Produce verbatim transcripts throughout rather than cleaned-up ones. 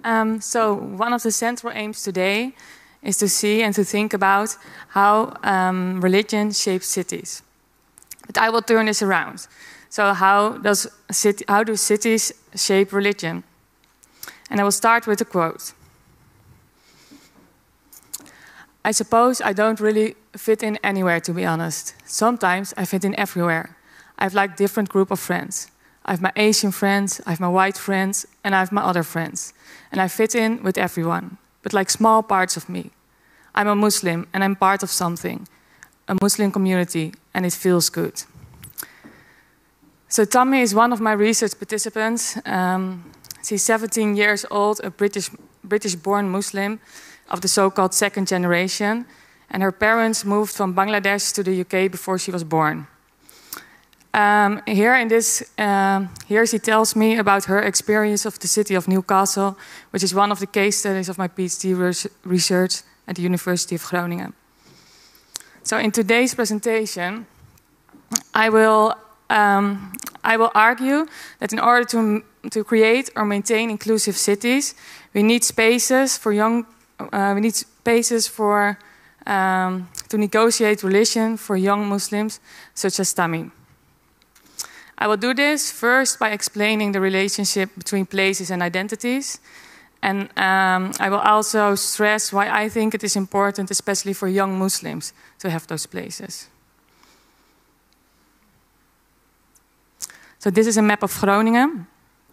Um, so one of the central aims today is to see and to think about how um, religion shapes cities. But I will turn this around. So how, does city, how do cities shape religion? And I will start with a quote. I suppose I don't really fit in anywhere, to be honest. Sometimes I fit in everywhere. I have like different group of friends. I have my Asian friends, I have my white friends, and I have my other friends. And I fit in with everyone, but like small parts of me. I'm a Muslim and I'm part of something, a Muslim community, and it feels good. So Tammy is one of my research participants. Um, she's seventeen years old, a British, British-born Muslim of the so-called second generation. And her parents moved from Bangladesh to the U K before she was born. Um, here in this, um, here she tells me about her experience of the city of Newcastle, which is one of the case studies of my PhD research at the University of Groningen. So in today's presentation, I will, um, I will argue that in order to, to create or maintain inclusive cities, we need spaces for young, uh, we need spaces for, um, to negotiate religion for young Muslims, such as Tammy. I will do this first by explaining the relationship between places and identities. And um, I will also stress why I think it is important, especially for young Muslims, to have those places. So this is a map of Groningen.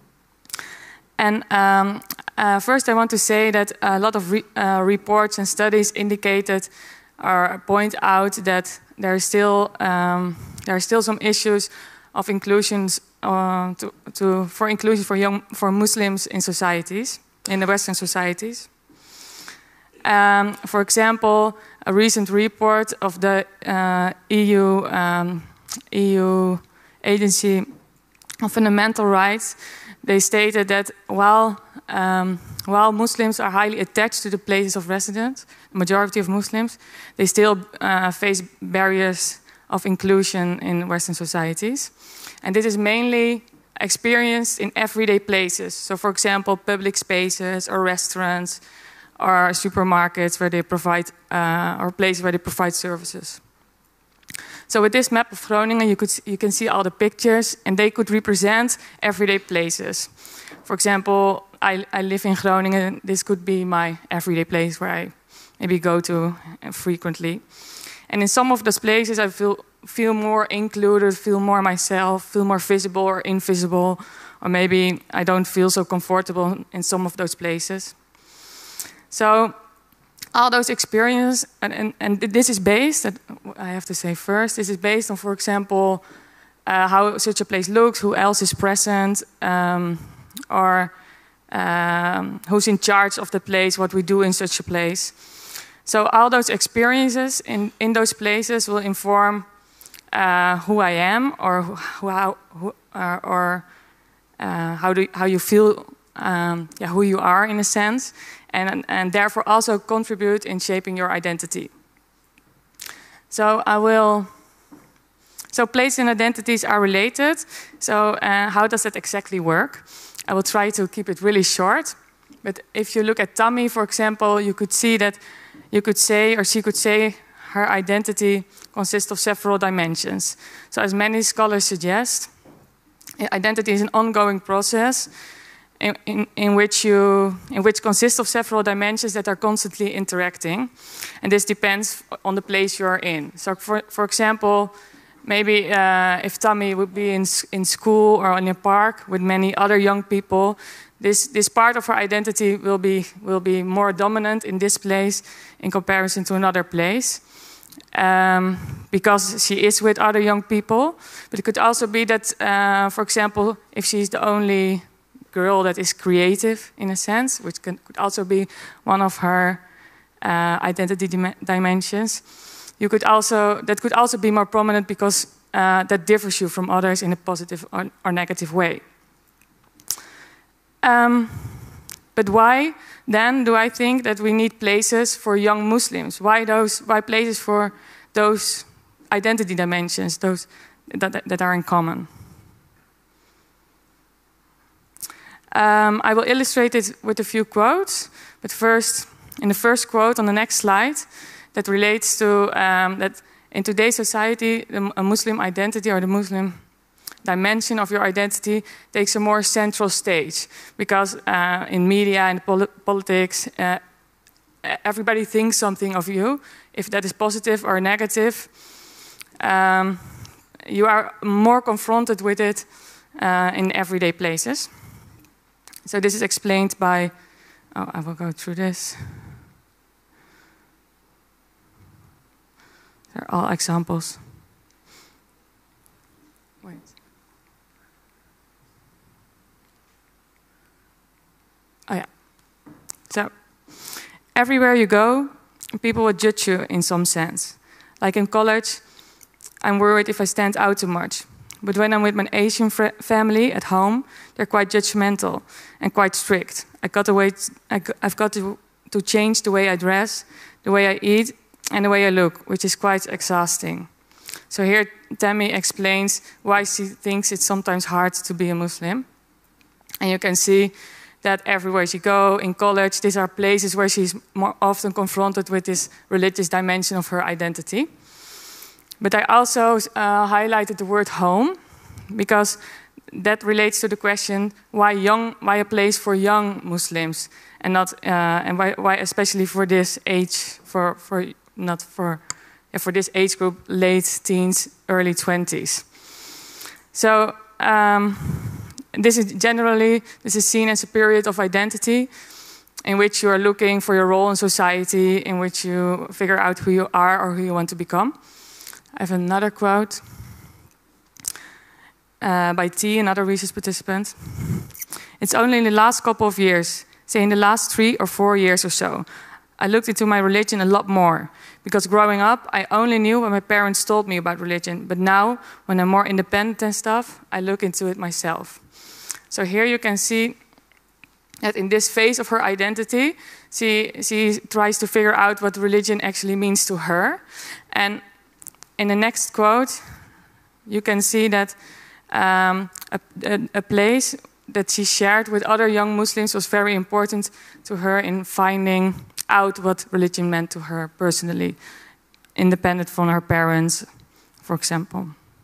And um, uh, first I want to say that a lot of re uh, reports and studies indicated or point out that there are still, um, there are still some issues of inclusions uh, to, to, for inclusion for young for Muslims in societies, in the Western societies. Um, for example, a recent report of the uh, E U um, E U Agency on Fundamental Rights, they stated that while um, while Muslims are highly attached to the places of residence, the majority of Muslims, they still uh, face barriers of inclusion in Western societies. And this is mainly experienced in everyday places. So for example, public spaces or restaurants or supermarkets where they provide, uh, or places where they provide services. So with this map of Groningen, you, could, you can see all the pictures and they could represent everyday places. For example, I, I live in Groningen. This could be my everyday place where I maybe go to frequently. And in some of those places, I feel feel more included, feel more myself, feel more visible or invisible, or maybe I don't feel so comfortable in some of those places. So all those experiences, and, and, and this is based, I have to say first, this is based on, for example, uh, how such a place looks, who else is present, um, or um, who's in charge of the place, what we do in such a place. So all those experiences in, in those places will inform uh, who I am, or who, how, who, uh, or uh, how do how you feel, um, yeah, who you are in a sense, and and therefore also contribute in shaping your identity. So I will. So place and identities are related. So uh, how does that exactly work? I will try to keep it really short. But if you look at Tammy, for example, you could see that. You could say, or she could say, her identity consists of several dimensions. So as many scholars suggest, identity is an ongoing process in, in, in, which, you, in which consists of several dimensions that are constantly interacting. And this depends on the place you're in. So for, for example, maybe uh, if Tammy would be in, in school or in a park with many other young people, This, this part of her identity will be, will be more dominant in this place in comparison to another place, um, because she is with other young people. But it could also be that, uh, for example, if she's the only girl that is creative, in a sense, which can, could also be one of her uh, identity dim dimensions, you could also, that could also be more prominent because uh, that differs you from others in a positive or, or negative way. Um, but why then do I think that we need places for young Muslims? Why those? Why places for those identity dimensions, those that, that are in common? Um, I will illustrate it with a few quotes, but first, in the first quote on the next slide, that relates to um, that in today's society, the, a Muslim identity or the Muslim dimension of your identity takes a more central stage, because uh, in media and poli politics, uh, everybody thinks something of you, if that is positive or negative. Um, you are more confronted with it uh, in everyday places. So this is explained by, oh, I will go through this. They're all examples. Wait. Oh yeah. So, everywhere you go, people will judge you in some sense. Like in college, I'm worried if I stand out too much. But when I'm with my Asian family at home, they're quite judgmental and quite strict. I got to wait, I, I've got to, to change the way I dress, the way I eat, and the way I look, which is quite exhausting. So here Tammy explains why she thinks it's sometimes hard to be a Muslim. And you can see that everywhere she go, in college, these are places where she's more often confronted with this religious dimension of her identity. But I also uh, highlighted the word home, because that relates to the question why young, why a place for young Muslims, and not uh, and why, why especially for this age, for for not for yeah, for this age group, late teens, early twenties. So um, this is generally this is seen as a period of identity, in which you are looking for your role in society, in which you figure out who you are or who you want to become. I have another quote uh, by T, another research participant. It's only in the last couple of years, say in the last three or four years or so, I looked into my religion a lot more. Because growing up, I only knew what my parents told me about religion. But now, when I'm more independent and stuff, I look into it myself. So here you can see that in this phase of her identity, she, she tries to figure out what religion actually means to her. And in the next quote, you can see that um, a, a, a place that she shared with other young Muslims was very important to her in finding out what religion meant to her personally, independent from her parents, for example.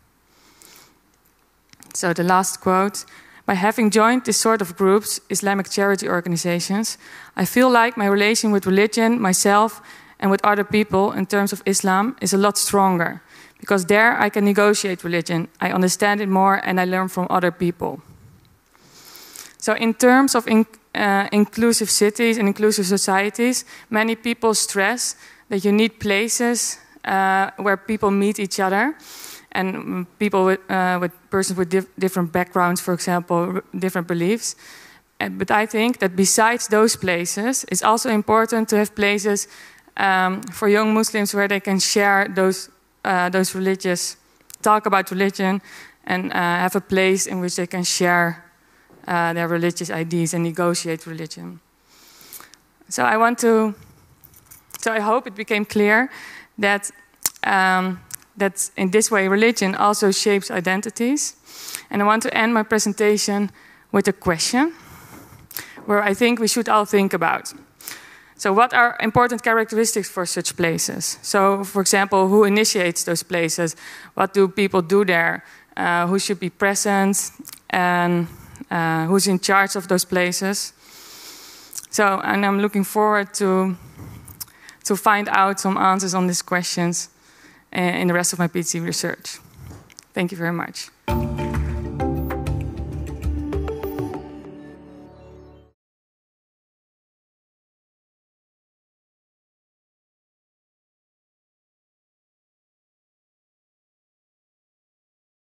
So the last quote, by having joined this sort of groups, Islamic charity organizations, I feel like my relation with religion, myself, and with other people in terms of Islam is a lot stronger. Because there I can negotiate religion, I understand it more, and I learn from other people. So in terms of in, uh, inclusive cities and inclusive societies, many people stress that you need places uh, where people meet each other, and people with, uh, with persons with dif different backgrounds, for example, different beliefs. And, but I think that besides those places, it's also important to have places um, for young Muslims where they can share those, uh, those religious, talk about religion, and uh, have a place in which they can share Uh, their religious ideas and negotiate religion. So I want to, so I hope it became clear that, um, that in this way religion also shapes identities. And I want to end my presentation with a question where I think we should all think about. So what are important characteristics for such places? So for example, who initiates those places? What do people do there? Uh, who should be present? And Uh, who's in charge of those places. So, and I'm looking forward to, to find out some answers on these questions uh, in the rest of my PhD research. Thank you very much.